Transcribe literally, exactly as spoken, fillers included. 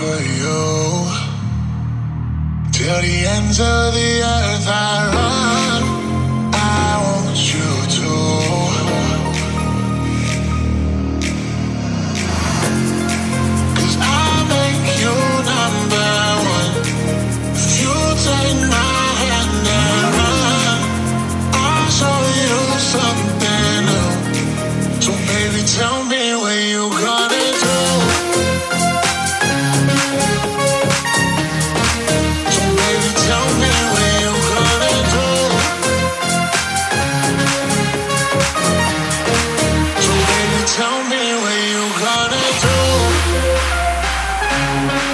for you. Till the ends of the earth I run. I want you to. Cause I make you number one. If you take my hand and run, I'll show you something new. So baby, tell me what you gonna do. So baby, tell me what you gonna do. So baby, tell me what you gonna do.